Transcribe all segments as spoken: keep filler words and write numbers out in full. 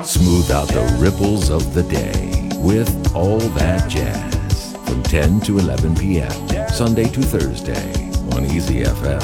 Smooth out the ripples of the day with All That Jazz from ten to eleven p.m. Sunday to Thursday on Easy F M.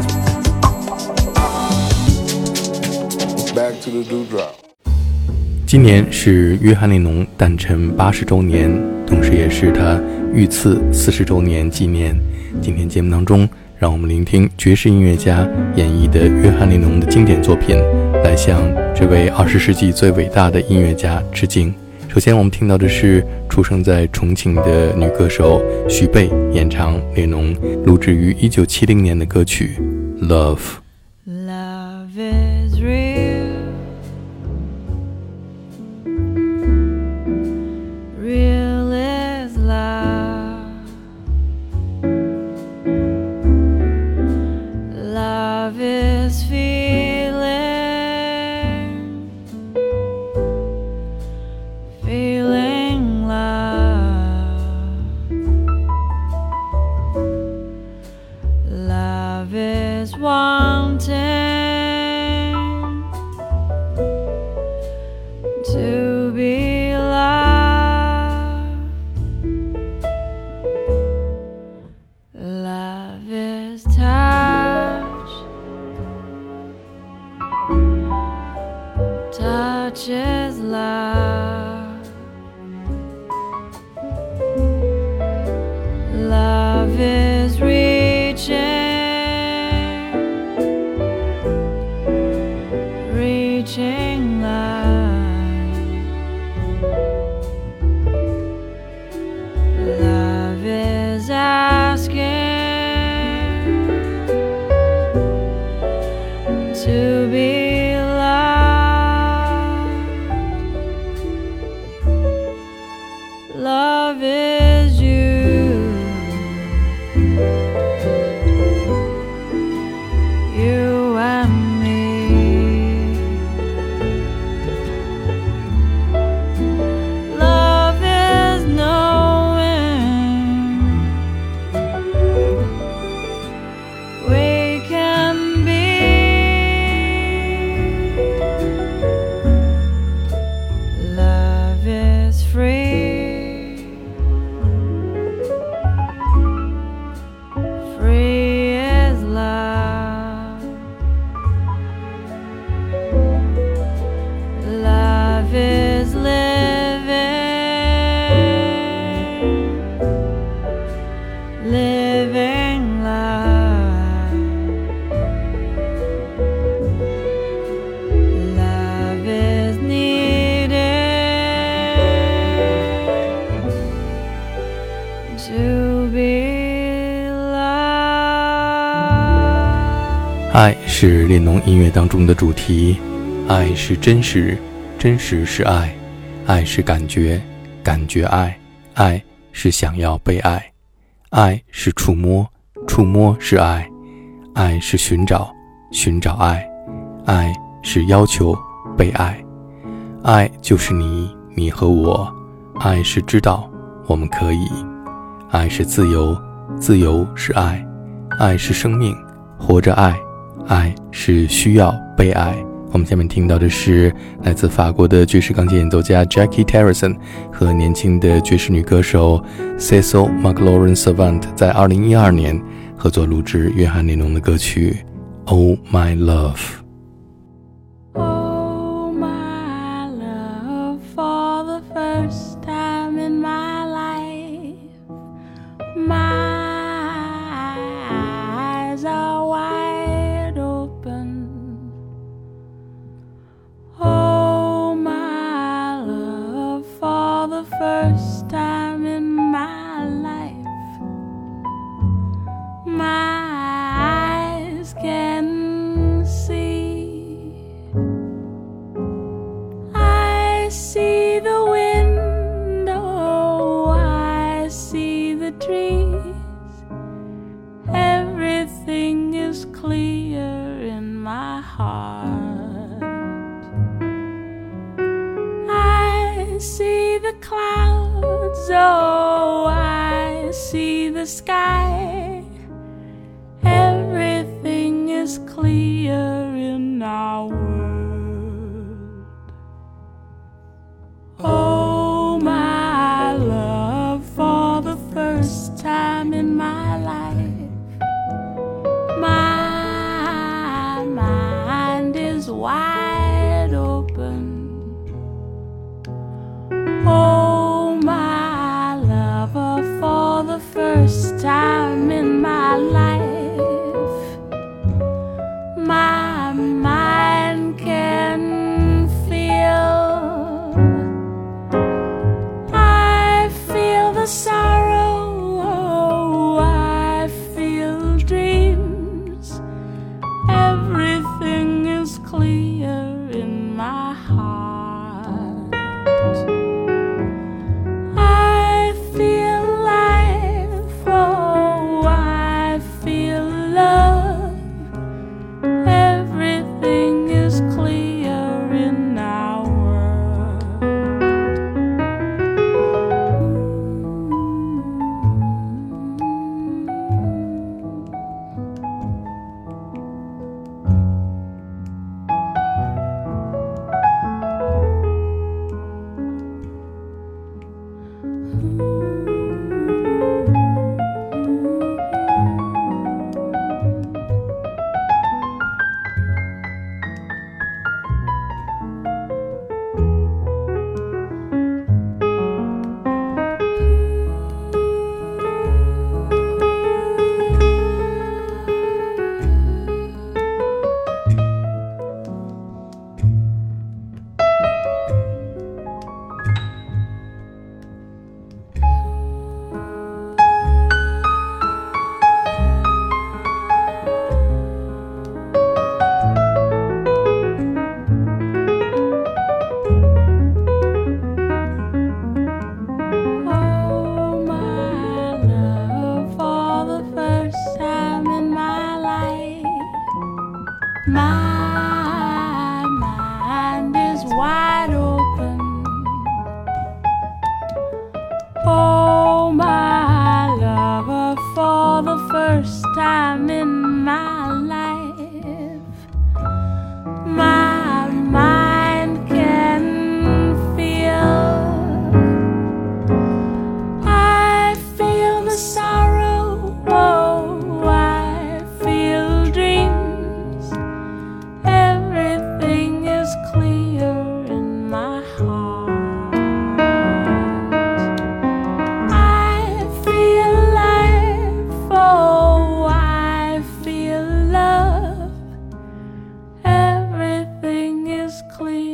Back to the dewdrop. 今年是约翰列侬诞辰八十周年，同时也是他遇刺四十周年纪念。今天节目当中，让我们聆听爵士音乐家演绎的约翰列侬的经典作品，来向这位二十世纪最伟大的音乐家致敬。首先我们听到的是出生在重庆的女歌手许贝演唱列侬录制于一九七零年的歌曲 Love。 Love is real, real is love, love is feeling, feeling love, love is wanting to be loved, love is touch, touch is love, love is reaching, reaching love, love is asking to be loved, love is you, you and me, love is knowing we can be, love is free, free is love, love is living, living love, love is needed to be loved. 爱是列侬音乐当中的主题，爱是真实，真实是爱，爱是感觉，感觉爱，爱是想要被爱，爱是触摸，触摸是爱，爱是寻找，寻找爱，爱是要求被爱，爱就是你，你和我，爱是知道我们可以，爱是自由，自由是爱，爱是生命，活着爱，爱是需要被爱。我们下面听到的是来自法国的爵士钢琴演奏家 Jackie Terrasson 和年轻的爵士女歌手 Cecil McLaurin-Savant 在二零一二年合作录制约翰列侬的歌曲 Oh My Oh my love, for the first time in my life, my eyes are wide open. Oh my love, for the first time in my life, my eyes can see. I see the window, I see the trees, everything is clear in my heart. I see the clouds, oh, I see the sky, everything is clear in our world.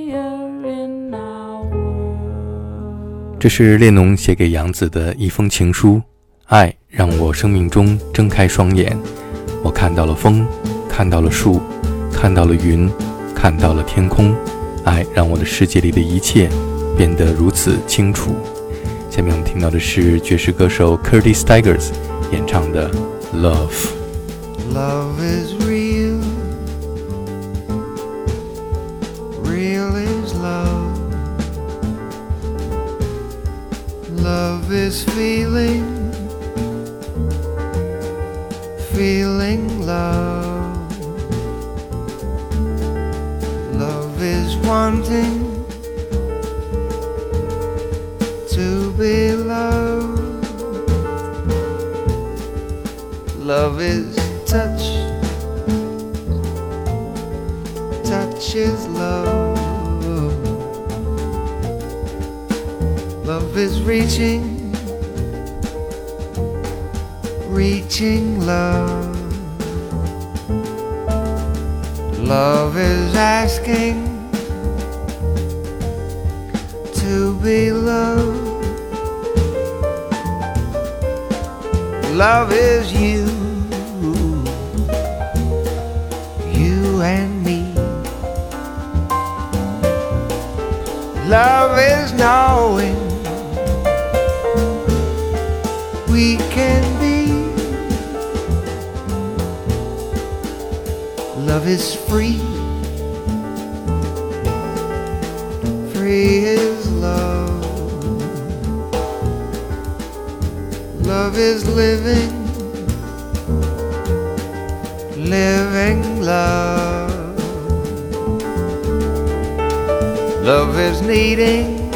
clear in our world. 这是列侬写给杨子的一封情书。爱让我生命中睁开双眼，我看到了风，看到了树，看到了云，看到了天空。爱让我的世界里的一切变得如此清楚。下面我们听到的是爵士歌手 Curtis Stigers 演唱的 Love。 Love is real, real is love. Love is feeling, feeling love. Love is wanting to be loved. Love is touch, touch is love. Love is reaching, reaching love. Love is asking to be loved. Love is you, you and me. Love is knowing we can be. Love is free, free is love. Love is living, living love. Love is needing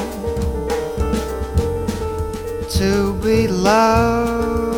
to be loved.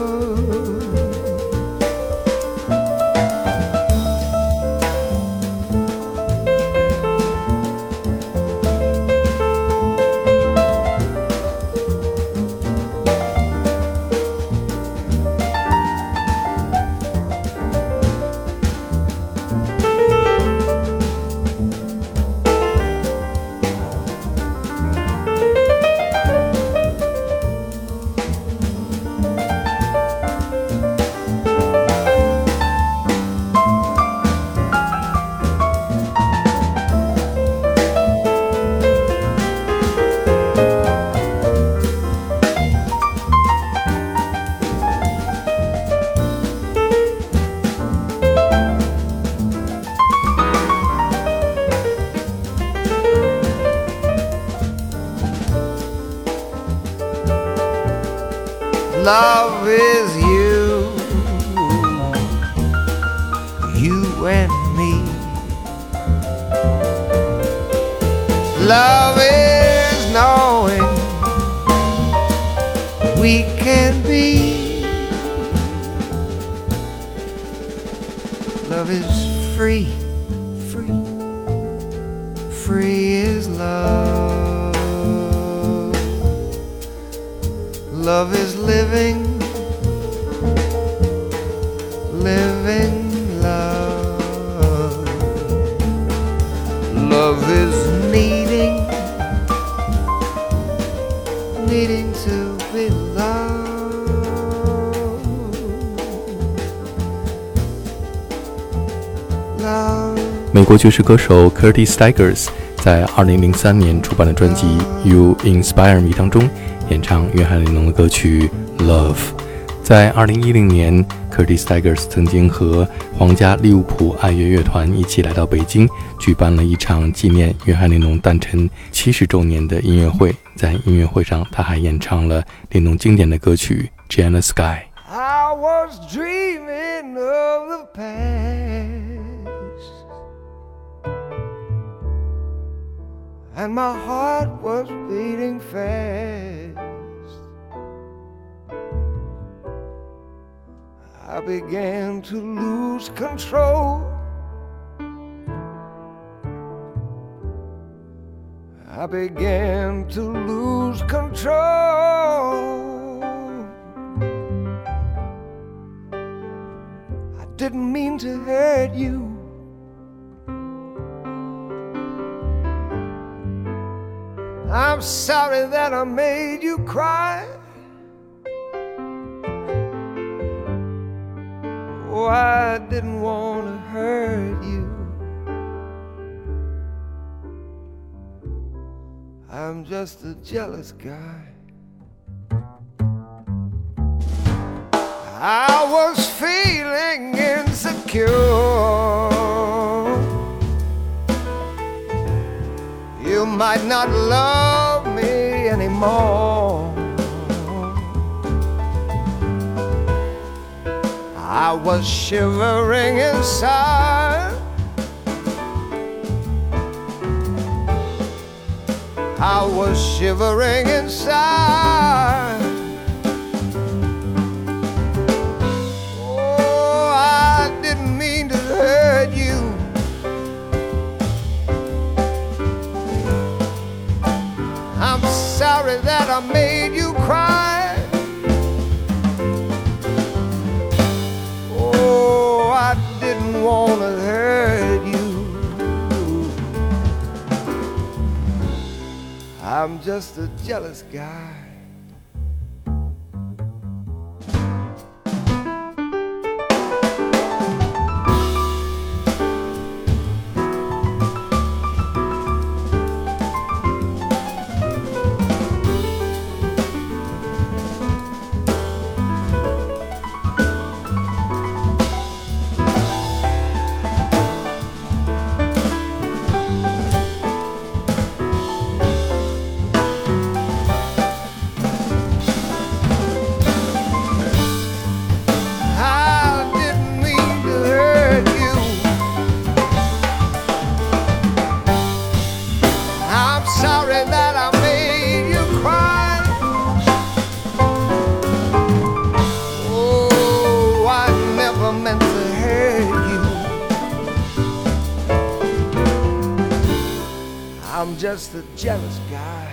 Love is you, you and me. Love is knowing we can be. Love is free, free, free is love. Love is living, living love. Love is needing, needing to be loved. Love. 美国爵士歌手 Curtis Stigers 在二零零三年出版的专辑 You Inspire Me 当中演唱约翰列侬的歌曲 Love。 在二零一零年 Curtis Stigers 曾经和皇家利物浦爱乐乐团一起来到北京，举办了一场纪念约翰列侬诞辰七十周年的音乐会。在音乐会上，他还演唱了列侬经典的歌曲 Jay in the Sky。 I was dreaming of the past, and my heart was beating fast. I began to lose control. I began to lose control. I didn't mean to hurt you. I'm sorry that I made you cry. Oh, I didn't want to hurt you. I'm just a jealous guy. I was feeling insecure. You might not love me anymore. I was shivering inside. I was shivering inside. Oh, I didn't mean to hurt you. I'm sorry that I made you cry. Oh, I didn't want to hurt you. I'm just a jealous guy. I'm just a jealous guy.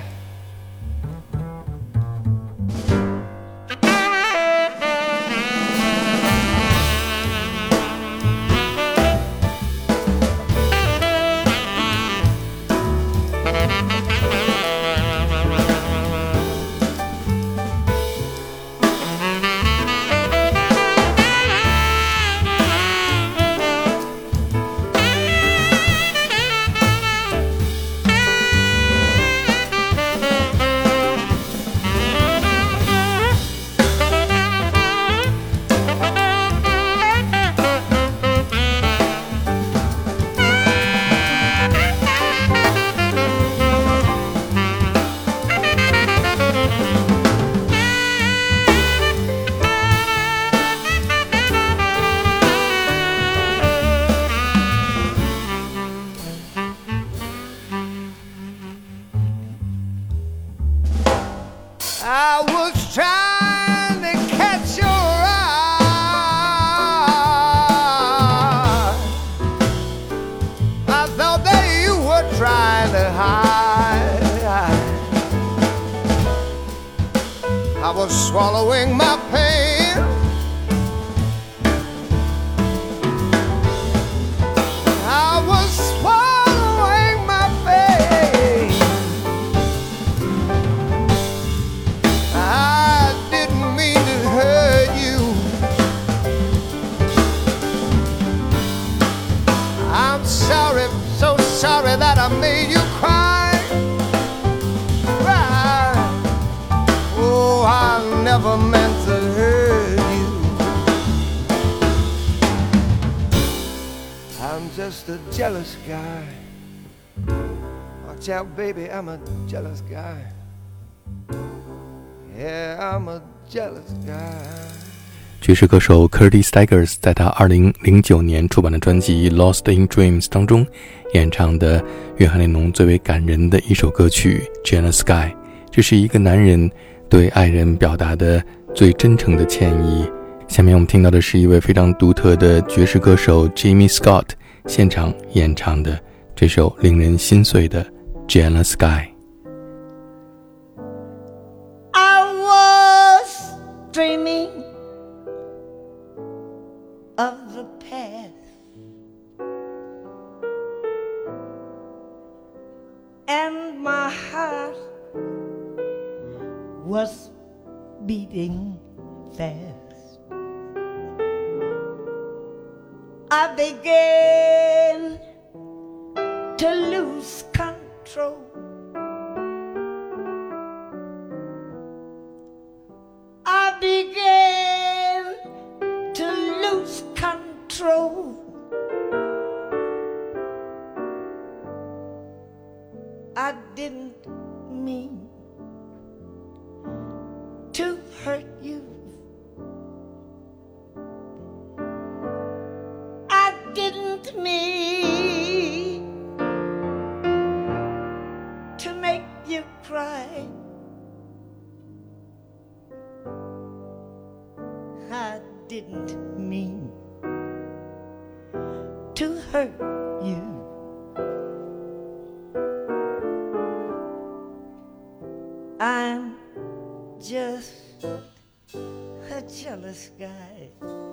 I was trying to catch your eye. I thought that you were trying to hide. I was swallowing my pain. I was swallowing my pain. I didn't mean to hurt you. I'm sorry, so sorry that I made you cry. Cry. Oh, I never meant to hurt you. I'm just a jealous guy. Watch out, baby, I'm a jealous guy. Yeah, I'm a jealous guy. 爵士歌手 Curtis Stigers 在他二零零九年出版的专辑《Lost in Dreams》当中演唱的约翰列侬最为感人的一首歌曲《Jealous Guy》，这是一个男人对爱人表达的最真诚的歉意。下面我们听到的是一位非常独特的爵士歌手 Jimmy Scott 现场演唱的这首令人心碎的《Jealous Guy》。I was dreaming of the past, and and my heart was beating fast. I began to lose control. I began to lose control. I didn't mean to hurt you. I didn't mean to make you cry. I didn't mean to hurt you. I'm just a jealous guy.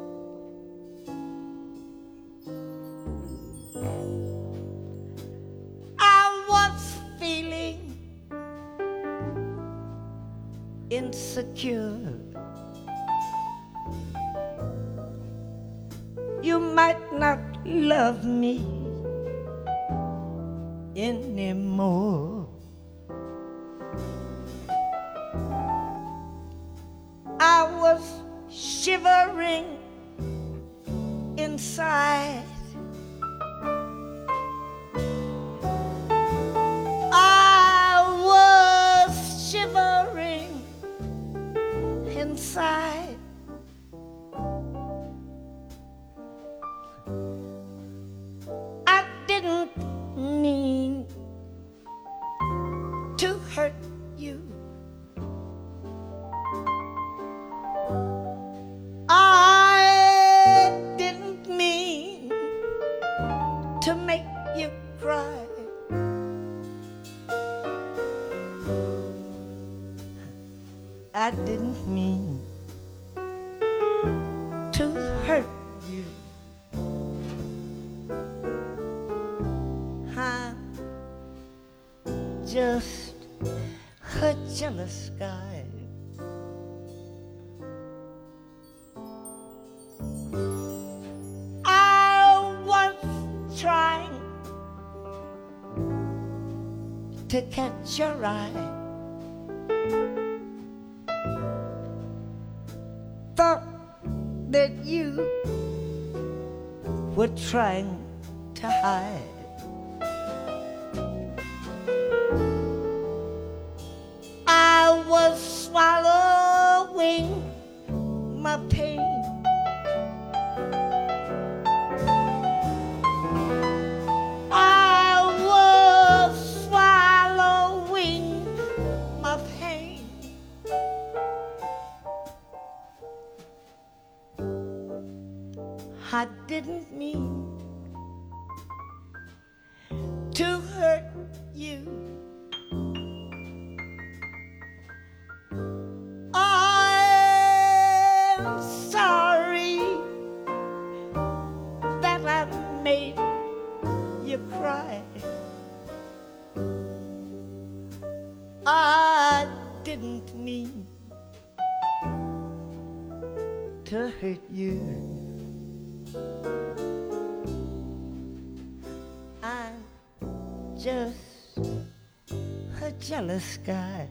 I was feeling insecure. You might not love me anymore. I was shivering inside. I was shivering inside. I didn't mean to hurt you. I didn't mean to make you cry. I didn't mean to hurt you. I'm just a jealous guy. Trying to catch your eye. Thought that you were trying to hide. I was swallowing my pain. I didn't mean to hurt you. I'm sorry that I made you cry. I didn't mean to hurt you. I'm just a jealous guy.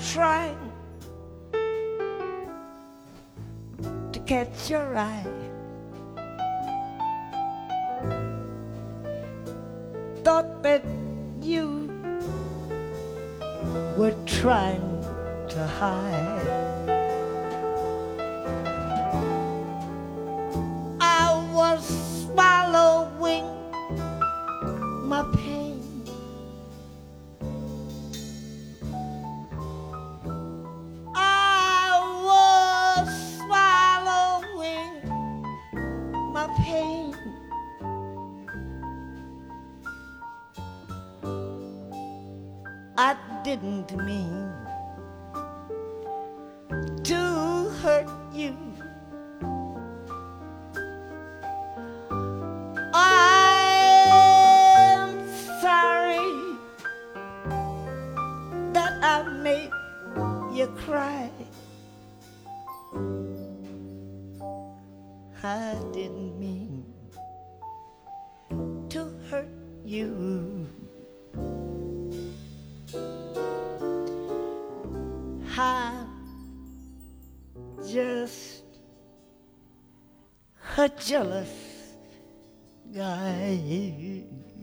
trying to catch your eye. Thought that you were trying to hide. I was swallowing my pain. I was swallowing my pain. I didn't mean to hurt you. I'm sorry that I made you cry. I didn't mean to hurt you. I'm just a jealous guy.